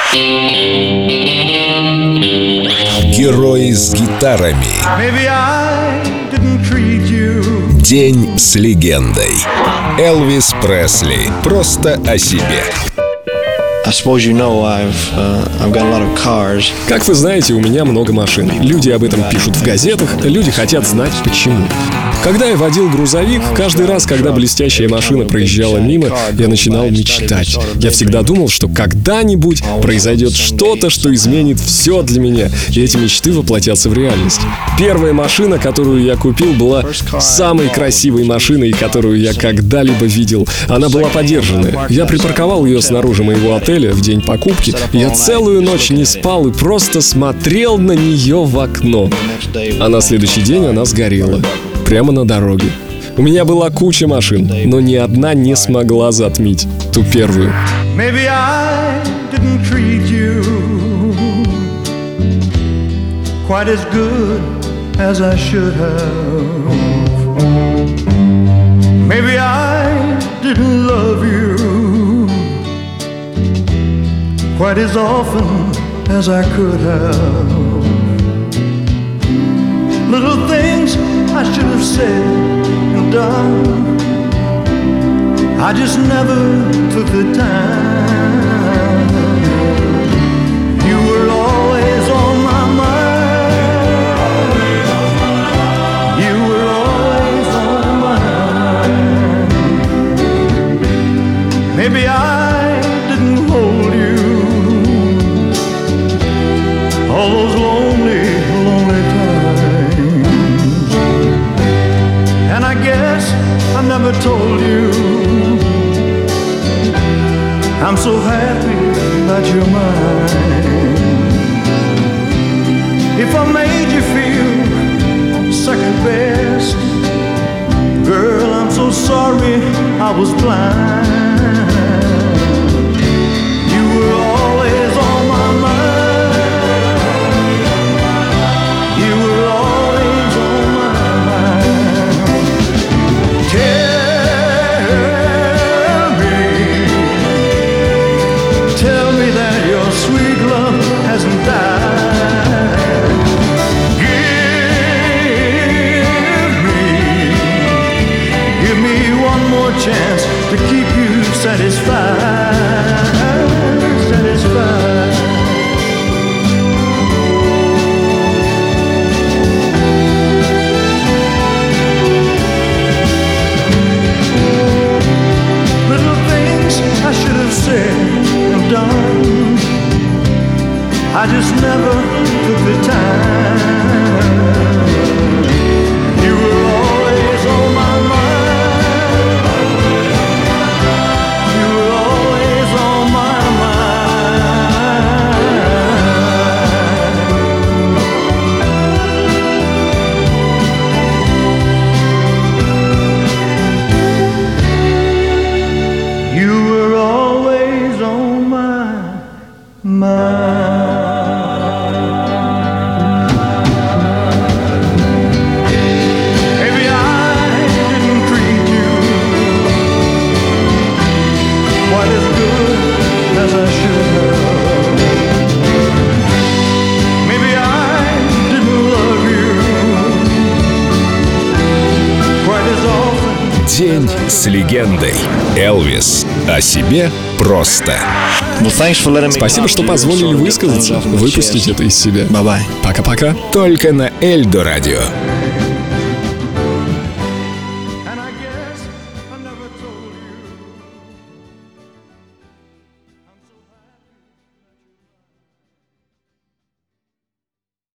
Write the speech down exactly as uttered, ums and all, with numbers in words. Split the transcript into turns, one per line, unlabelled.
Герои с гитарами. День с легендой. Элвис Пресли. Просто о себе.
Как вы знаете, у меня много машин. Люди об этом пишут в газетах, люди хотят знать почему. Когда я водил грузовик, каждый раз, когда блестящая машина проезжала мимо, я начинал мечтать. Я всегда думал, что когда-нибудь произойдет что-то, что изменит все для меня, и эти мечты воплотятся в реальность. Первая машина, которую я купил, была самой красивой машиной, которую я когда-либо видел. Она была подержанная. Я припарковал ее снаружи моего отеля в день покупки. Я целую ночь не спал и просто смотрел на нее в окно. А на следующий день она сгорела. Прямо на дороге. У меня была куча машин, но ни одна не смогла затмить ту первую.
Quite as often as I could have. Little things I should have said and done, I just never took the time. You were always on my mind. You were always on my mind. Maybe I didn't hold you all those lonely, lonely times. And I guess I never told you I'm so happy that you're mine. If I made you feel second best, girl, I'm so sorry I was blind. You were always on my mind. You were always on my mind. Tell me, tell me that your sweet love hasn't died. Give me, give me one more chance to keep you satisfied, satisfied. Little things I should have said and done, I just never took the time. You were always on my mind. You were always on my mind. You were always on my mind. Maybe I didn't treat you quite as good as I should have. Maybe I didn't love you quite as often.
День с легендой. Элвис о себе просто.
Спасибо, что позволили высказаться, выпустить это из себя.
Bye-bye.
Пока-пока.
Только на Эльдо радио.